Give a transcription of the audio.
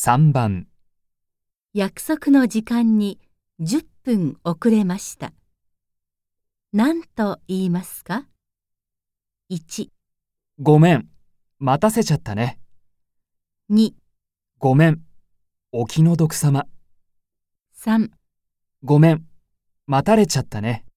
3番、 約束の時間に10分遅れました。何と言いますか？ 1、 ごめん、待たせちゃったね。 2、 ごめん、お気の毒様。 3 ごめん、待たれちゃったね。